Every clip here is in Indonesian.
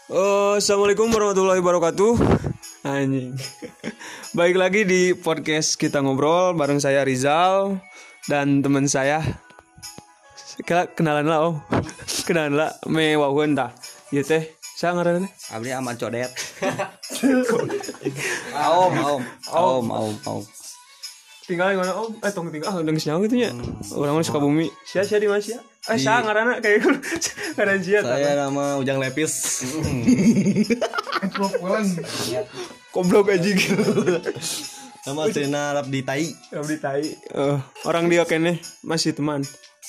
Assalamualaikum warahmatullahi wabarakatuh. Anjing. Baik lagi di podcast kita ngobrol bareng saya Rizal dan teman saya. Kenalan lah om. Kenalan lah mewahun tah. Ieu teh saya ngaranna Abdi Ahmad Codet. Om. tinggal di mana om? Tong tinggal udah nyawa gitu nya. Orang suka bumi. Sia di mana sia? Saya ngaranna kayak gitu. Ngaran sia tah. Saya nama Ujang Lepis. Goblok anjing. Nama Trina Rabdi Tai. Abdi tai. Orang dia kene masih teman.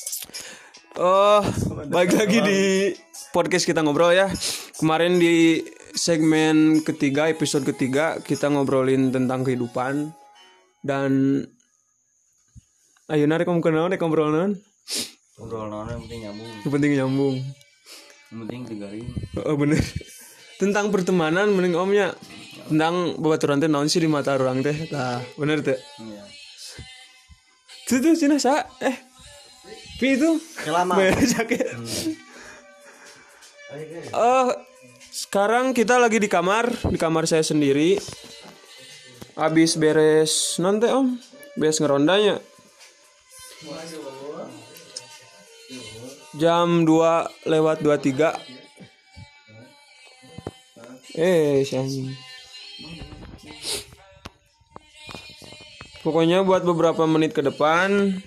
Balik lagi di podcast kita ngobrol ya. Kemarin di segmen ketiga, episode ketiga kita ngobrolin tentang kehidupan. Dan ayeuna rek ngomongkeun naon rek ngobrol naon? Ngobrol naon yang penting nyambung. Yang penting nyambung. Yang penting digaring. Bener. Tentang pertemanan mending omnya. Tentang babaturan teh naon sih di mata orang teh? Tah, bener teh. Iya. Tuh cenah sa Pi itu Kelama. Sakit. Sekarang kita lagi di kamar saya sendiri. Habis beres nanti om, beres ngerondanya. Jam 2:23. Si anjing. Pokoknya buat beberapa menit ke depan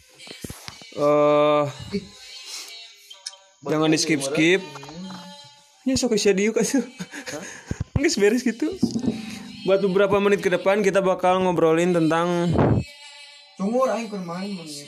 jangan di skip. Ya sok sia diuk atuh. Geus beres gitu. Buat beberapa menit ke depan kita bakal ngobrolin tentang Sumur aing keur main menit.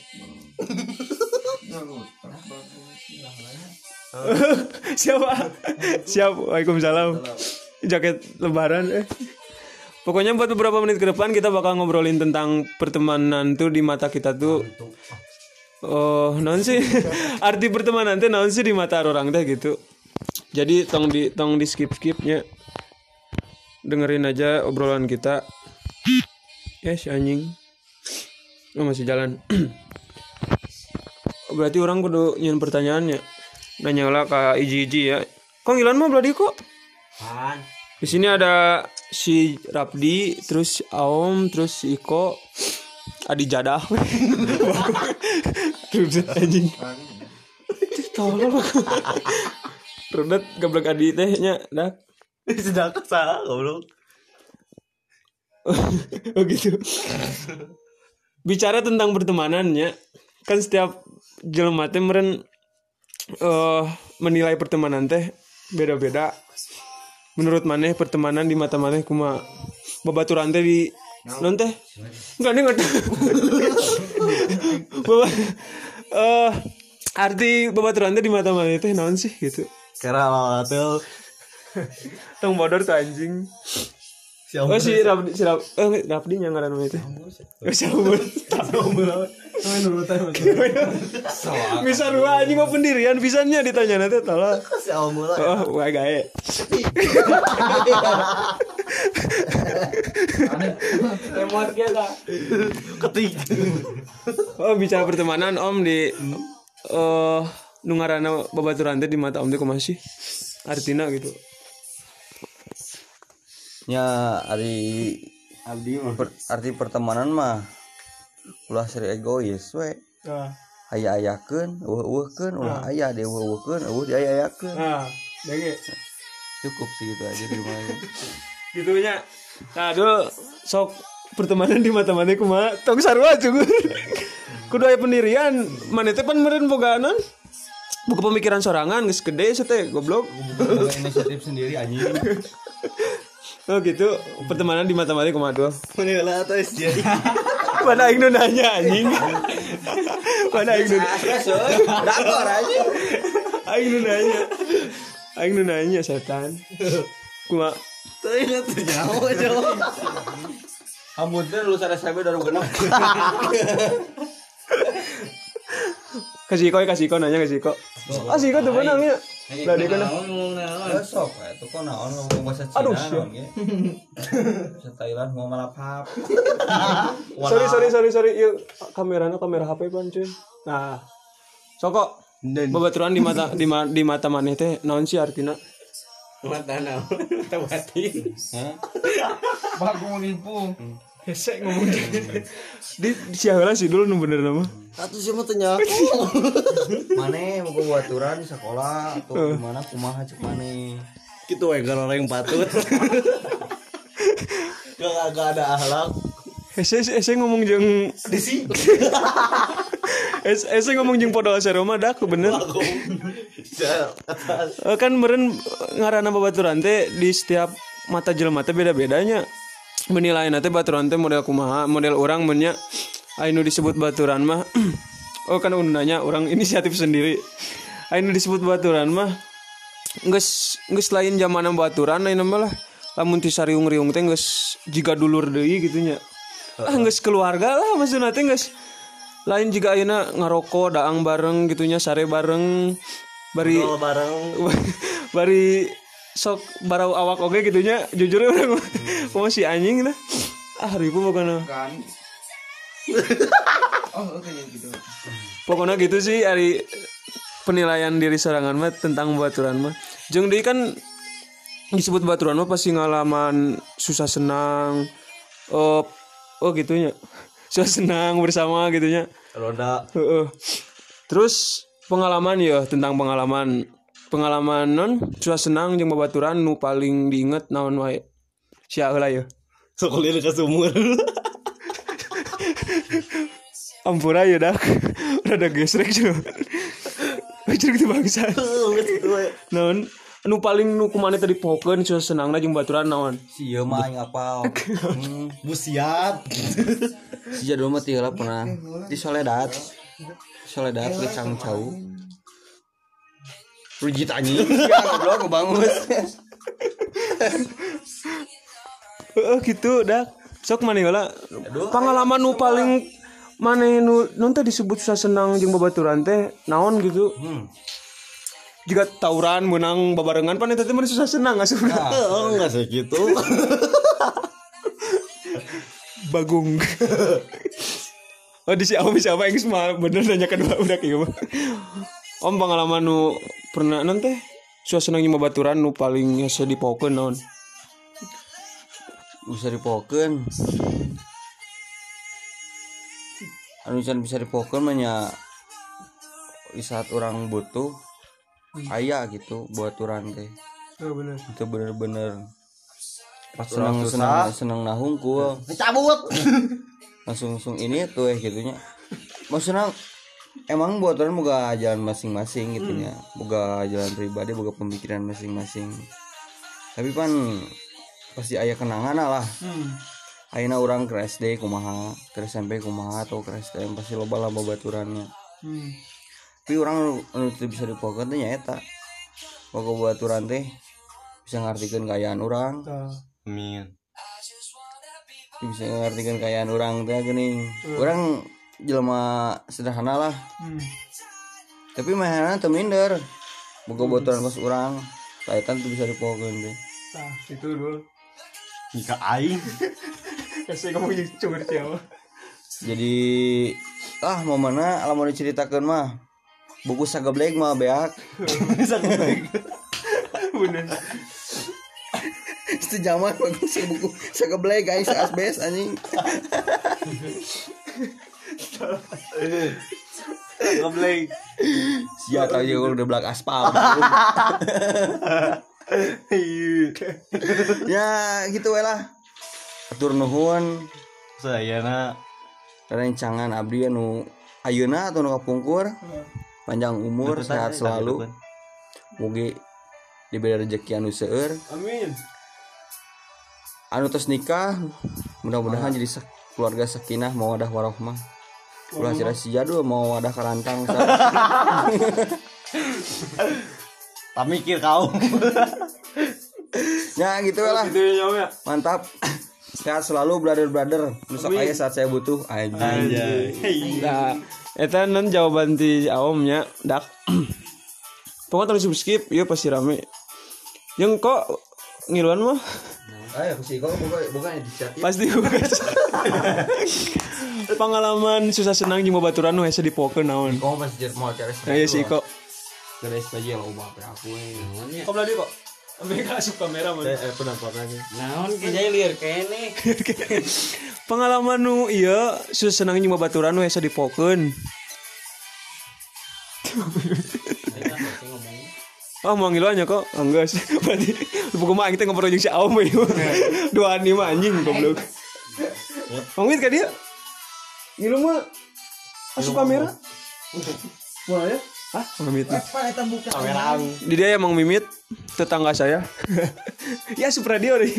Siap. Waalaikumsalam. Jaket lebaran. Pokoknya buat beberapa menit ke depan kita bakal ngobrolin tentang pertemanan tuh di mata kita tuh. Naon sih? Arti pertemanan teh naon sih di mata orang teh gitu. Jadi tong di skip-skipnya. Dengerin aja obrolan kita. Si anjing. Masih jalan. Berarti orang kudu nyen pertanyaannya. Nanya lah ke Iji ya. Kok ngilan mah berarti kok? Di sini ada si Rapdi, terus Aom, terus si Iko, Adi Jadah. Terus anjing. Tolong. Rudet gablek Adi teh nya dah. Sedang salah goblok. Gitu. Bicara tentang pertemanannya, kan setiap jelema teh meureun menilai pertemanan teh beda-beda. Menurut maneh pertemanan di mata maneh kumaha? Babaturan teh di non teh? Enggak. Arti babaturan teh di mata maneh teh naon sih gitu? Kira atuh. Tong bodor tuh anjing. Si Rapdi yang ngaran itu. Si Aumur. Bisa dua anjing mau pendirian pisannya ditanya nanti tolong. Si Aumur. Wah gae. Emot kita. Ketik. Bicara pertemanan om di nu ngaranna babaturan teh di mata om teh kumaha sih? Artina gitu. Ya arti pertemanan mah ulah seri egois we. Aya-ayakeun, eueuh-eueuhkeun, ulah aya deh eueuh-eueuhkeun, eueuh diaya-ayakeun. Denge. Cukup sih gitu aja di rumah. Gitunya. Nah, dulu sok pertemanan di mata maneh kumaha? Tong sarua cukup. Kudu aya pendirian, maneh teh pan meureun boga naon? Buka pemikiran sorangan geus gede teh goblok. Inisiatif sendiri anjing. Gitu, pertemanan di mata maneh kumaha tuh? Meuneulah atuh jadi. Mana aing nu nanya anjing. Mana aing nu Dakor anjing. Aing nu nanya setan. Kumaha? Teu ingat nyawa jauh. Amun teh lulus SMP 2006. Kasih kok nanya kasih kok. Siko tuh benar ya. Lah dia kana. Sok itu kok naon ngomong bahasa Cina naon ge. Bahasa Thailand mau malapap. Sorry. Ieu kamerana kamera HP pan cuy. Nah. Soko babaturan di mata maneh teh naon sih artina? Matana. Tawatin. Bagus nipu. Hese ngomong di siaheula sih dulu nu bener nama. Atuh sia mah teu nyaho. Mane mau baturan di sekolah atau gimana kumaha cek mane. Kitu we orang patut. Gak ada akhlak. Hese ngomong jeung Disi. Hese ngomong jeung podol saroma dak bener. Kan meureun ngaranna babaturan teh di setiap mata jelema teh beda-bedanya. Menilainya teh baturan teh model kumaha, model orang mennya anu disebut baturan mah oh kan undanya orang inisiatif sendiri. Anu disebut baturan mah geus lain zaman baturan lain mah lah lamun ti sariung-riung teh geus jiga dulur deui kitu nya. Geus keluarga lah maksudna teh geus lain jiga ayeuna ngarokok daang bareng gitunya sare bareng bari bari sok barau awak oge gitunya jujur urang masih anjing lah ribu pokoknya Kan. Oh, oke gitu. pokoknya gitu sih ari penilaian diri sorangan mah tentang baturan mah jeung deui kan disebut baturan mah pasti ngalaman susah senang oh gitunya susah senang bersama gitunya Roda. Terus pengalaman ya tentang pengalaman non susah senang jeung babaturan nu paling diinget naon wae sia heula ya Sekolah ke sumur. ampura ya dak rada gesrek juga gesrek teh bangsa naon nu paling nu kumaha teh dipokeun susah senangna jeung babaturan naon Sia mah aing apal. Busiat. Sia dulu mah teu lah pernah di Soledad ke Cangcau. Rujit anjing. Ya goblok kebangus. gitu dak sok maneh heula pengalaman nu paling maneh nu teh disebut susah senang jeung babaturan teh naon gitu jika tawuran menang babarengan pan eta teh mah susah senang asupna Oh, enggak segitu. Bagung oh di siapa yang semua bener nanya kedua udah kayak mah om pengalaman nu pernah nanti susah senang jeung babaturan nu paling hese dipokeun naon Bisa dipokeun. Anu bisa dipokeun mah nya di saat orang butuh aya gitu baturan teh. oh bener Itu bener-bener Pas orang seneng nahungkul. Cabut. Langsung ini tuh gitunya. Maksudnya emang baturan boga jalan masing-masing gitunya. Boga jalan pribadi, boga pemikiran masing-masing. Tapi pan pasti aya kenangan lah. Ayeuna urang ke SD kumaha, ke SMP kumaha atau ke STM pasti loba baturannya. Tapi orang anu bisa dipokeun teh nyaeta. Boga baturan teh bisa ngartikeun kayaan urang. Amin. Bisa ngartikeun kayaan urang teh geuning. Urang jelema sederhana lah. Tapi mahana teu minder. Boga baturan pas urang, kaitan tuh bisa dipokeun teh. nah itu dulu Jika aing hese ngomong jeung cungur siapa Jadi momenna lamun diceritakeun mah buku sageblek mah beak. bener Itu zaman bagus buku sageblek guys asbes anjing. Goblek. Sia tah je udah belak aspal. Ya gitu we lah. Atur nuhun Sayana rencangan abdi anu ayeuna atau nu kapungkur. Panjang umur, sehat selalu. Mugi diberi rezeki anu seueur. amin Anu tos nikah mudah-mudahan jadi keluarga sakinah mawaddah warahmah. Ulah sia-sia dulu mau wadah karantang. tak mikir kau. Ya gitu lah. gitu ya Mantap. Sehat selalu brother. Besok aya saat saya butuh anjing. nah eta non jawaban ti aomnya dak pokoknya terus skip ieu pasti rame yang kok ngiluan mah Ayo sih kok bukan inisiatif. pasti bukas pengalaman susah senang jeung babaturan nu hese dipokeun naon Kau pasti mau cari aya sih kok Keres aja lo ubah aku kok beladi kok Mereka suka kamera man. Penampilannya. Naon kijai lieur kene. Pengalaman nu iya senang nyoba baturan we asa dipokeun. Ah mau ngilu nya kok enggak sih. Berarti pokoknya kita ngobrol jeung si Aom we. Dua anime anjing goblok. Ngomit ka dia? Ngilu mah asup kamera. Wah ya? Hah? Mimit. Kamera. Di dia emang Mimit tetangga saya. Ya Supradio deh.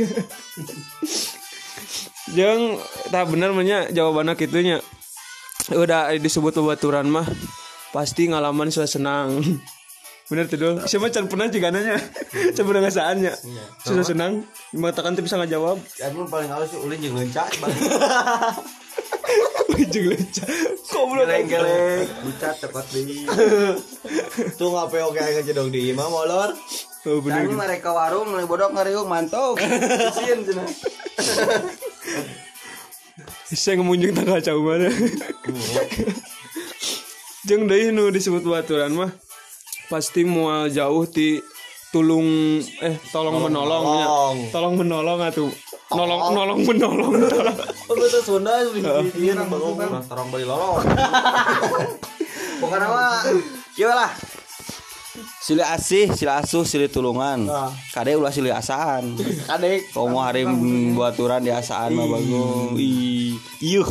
Jeung tah bener nya jawabanna kitunya. Udah disebut bebaturan mah pasti ngalaman sudah senang. Bener tuh dul. Siapa can pernah cigananya. Coba ngasaannya. Sudah senang. Mengatakan tuh bisa ngajawab. Aduh paling halus sih ulin jeung leunca. Jeung leunca. Goblok Geleng-geleng. Bucat tepat deui. Tuh ngape oke aja dong di imam molor. Oh bener. Tadi mereka warung mulai bodok ngariung mantok. Isin cenah. Saya ngemunjung tanggal jauh mana. Jeung deui nu disebut baturan mah pasti moal jauh ti tolong menolongnya. Tolong menolong atuh. Nolong menolong. Oh betul Sunda di nang bangun. Torong beli lolong. Pokoknya mah kieu lah. Silih asih, silih asuh, silih tulungan. Kade ulah silih asaan. Kadek. Komo hari baturan di asaan mah bagus. Iyuh.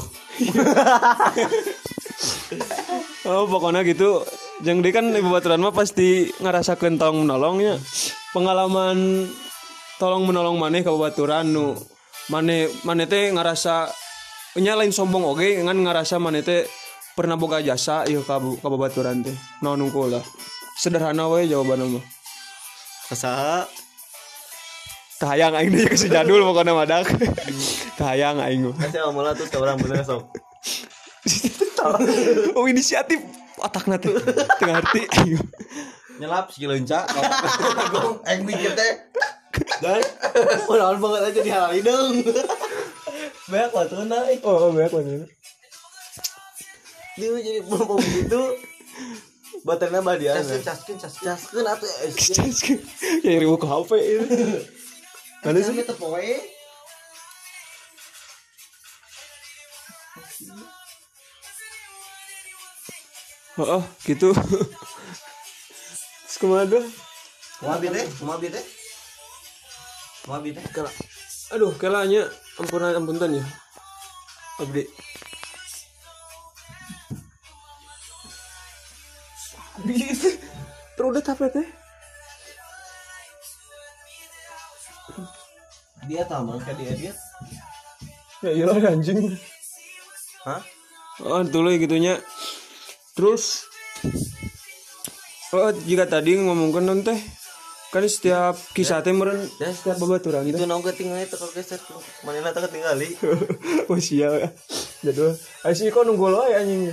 Oh pokoknya gitu. Jeung deui kan ibu baturan mah pasti ngarasakeun tolong menolongnya. Pengalaman tolong menolong maneh ka baturan nu maneh teh ngarasa nya lain sombong oge ngan ngarasa maneh teh pernah boga jasa ieu ka babaturan teh. Naon unggul lah. Sederhana we jawabanna mah. Kasaha? Kahayang aing deui geus jadul pokona madak. Kahayang aing mah. Kasih amola tuh orang bener sok. Oh inisiatif otakna teh. Teu ngarti aing. Nyelap si leunca. Aing mikir teh. Dan orang banget aja di halal hidung. Banyak waktu naik. Oh banyak banget. Dia jadi bom gitu. Baterainya badian. Caskeun atuh. Ya ribu ke HP ini. Mana sih? Teu poe. Oh gitu. Terus kemana? Kumaha teh? Kela. Aduh, kelanya ampunten ya. Abdi. Terudet apa teh? Dia tahu kan dia. Ya iyalah anjing. Hah? Oh, dulu gitunya. Terus jika tadi ngomongkan non teh kan setiap kisah teh meureun setiap babaturan Itu teh. nongke tinggal itu kalau geser manehna teh tinggali. Oh sia. Jadul. Asih kok nunggu loe anjing.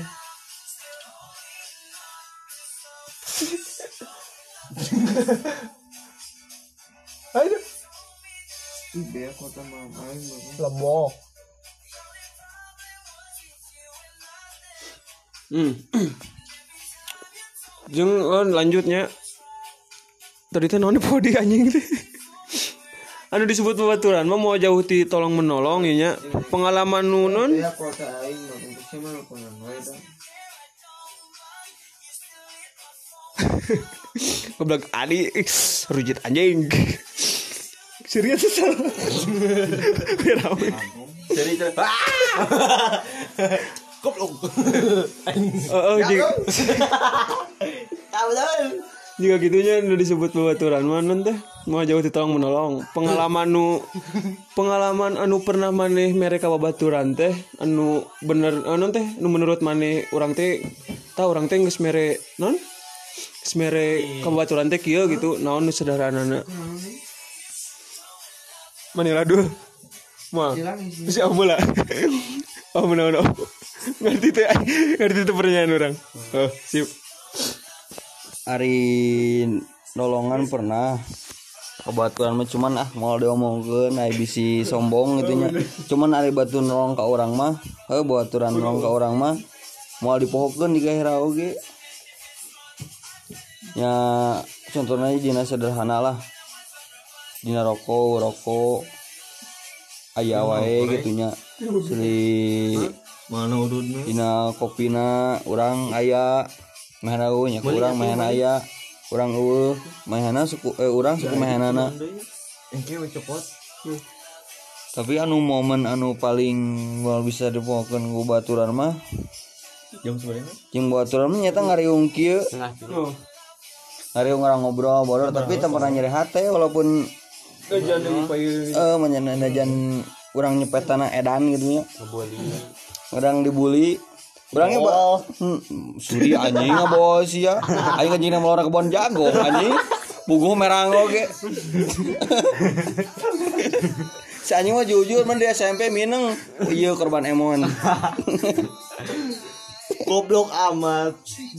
Ayo. Biar kota main Lemo. Jeung lanjutnya. Tadi teh naon podi anjing teh. Anu disebut babaturan mah mau jauh ti tolong menolong ya nya. Pengalaman nu non. ya kota aing mah untuk cenah pernah wae tah. Goblok Adi rujit anjing. Serius salah. Berapa? Jadi goblok. Jika Tahu dah. jika gitunya udah disebut babaturan mana teh mau jauh ditolong menolong pengalaman anu pernah maneh mereka babaturan teh anu bener anu teh anu menurut maneh orang teh tahu orang teh geus mere non geus mere ka babaturan teh kieu gitu naon nu sederhanana manila dul mah si amula no ngerti teh pertanyaan orang oh sip. Ari nolongan pernah kebaturan mah cuman mau diomongkeun aya bisi sombong gitu nya. Cuman ari batu nolong ka urang mah, baturan nolong ka urang mah moal dipohokeun di gairah oge. Ya contohnya dina sederhana lah. dina rokok aya wae gitunya seli mana ududna dina kopina urang aya mehana nya urang mehana aya urang mehana suku urang suku mehanana engke we copot tapi anu momen anu paling moal bisa dipokeun ku baturan mah jam sebenarnya jeung baturan mah nyata ngariung kieu ngariung orang ngobrol bodor tapi teu pernah nyeri hate walaupun Jangan dipayu. Najan urang nyepetana edan gitu nya. Urang dibully. Urangnya sudi anjing ngabawa sia. Aing anjing na melora kebon jago anjing. Puguh merang oge. Si anjing mah jujur mah di SMP mineng. Ieu korban emon. Goblok amat.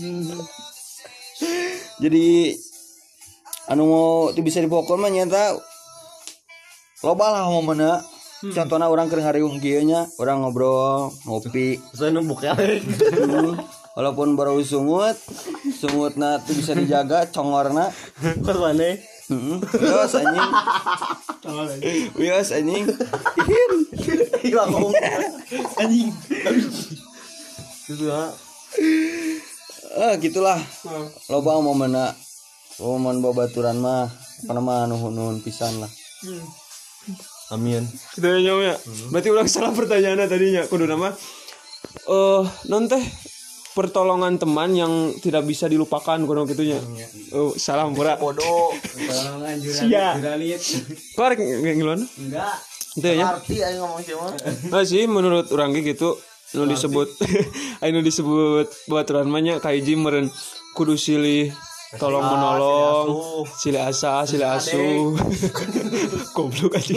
Jadi anu mau teu bisa dipokon mah nyata loba lah momenna. Contohna urang keur ngariung kieu nya, urang ngobrol, ngopi. Saya nembuk ya. Walaupun baru sungutna teu bisa dijaga congorna. Pas maneh. Wios anjing. Wios anjing. Hilang anjing. Gitu ya. Gitulah. Loba momenna. Momen babaturan mah kana mah nuhun pisan lah. Amin. Kita nyawa ya. Berarti ulang salah pertanyaannya tadinya. Kudu nama non teh pertolongan teman yang tidak bisa dilupakan kudu gitunya. Salam pura. Bodoh. Pertolongan juralit. Kok arek ngiluan? Enggak. Itu ya. Arti aing ngomong siapa? Nah sih menurut urang ge gitu nu disebut anu disebut baturan mah nya kahiji meureun kudu silih tolong menolong, silih asa, silih asu. Goblok aja.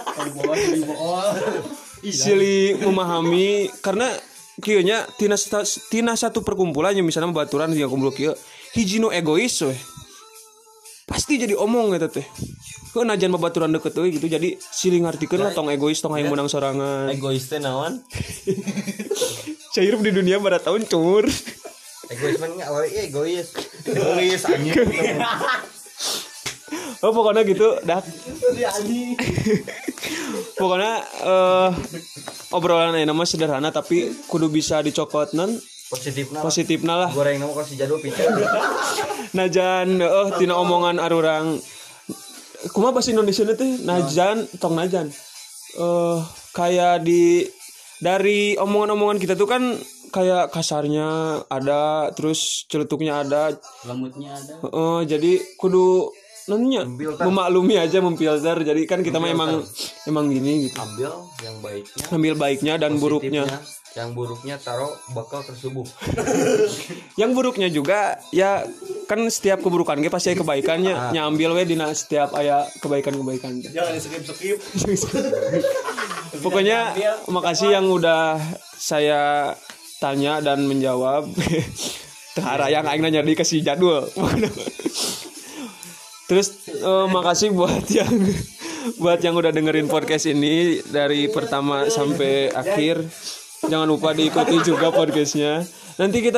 Silih memahami karena kieu nya tina satu perkumpulan yang misalnya baturan dia kumpul kieu hiji nu egois we. Pasti jadi omong eta teh. Heuh najan babaturan deket euy gitu jadi silih ngartikeun lah tong egois tong hayang menang sorangan. Egois teh naon? Cair di dunia barat tahun cur. Egois mah enggak we egois. Egois anjing. Oh pokoknya gitu dah. Pokoknya obrolan ayeuna mah sederhana tapi kudu bisa dicokotnan positifna lah. Goreng nama kasih jadul pican. Najan tina omongan arurang kumaha bahasa Indonesia teh najan tong najan. Kayak dari omongan-omongan kita tuh kan kayak kasarnya ada terus celetuknya ada Lembutnya ada. jadi kudu nanya memaklumi aja memfilter jadi kan kita mah emang gini gitu ambil baiknya dan buruknya Yang buruknya taruh bakal tersubuh. yang buruknya juga ya kan setiap keburukan ge pasti aya kebaikannya nyambil we dina setiap aya kebaikan-kebaikan Jangan skip. pokoknya makasih yang udah saya tanya dan menjawab. Tahara yang aing nanya dikasih jadwal. Terus makasih buat yang udah dengerin podcast ini dari pertama sampai akhir. Jangan lupa diikuti juga podcastnya. Nanti kita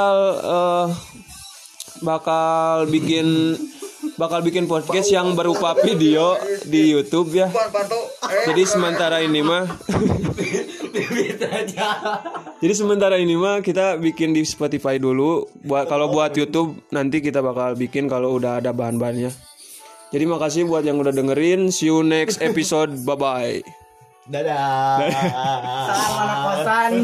bakal bikin podcast yang berupa video di YouTube ya. Jadi sementara ini mah kita bikin di Spotify dulu. Kalau buat YouTube nanti kita bakal bikin kalau udah ada bahan-bahannya. Jadi makasih buat yang udah dengerin. See you next episode. Bye bye. Dadah. Salam anak kosan.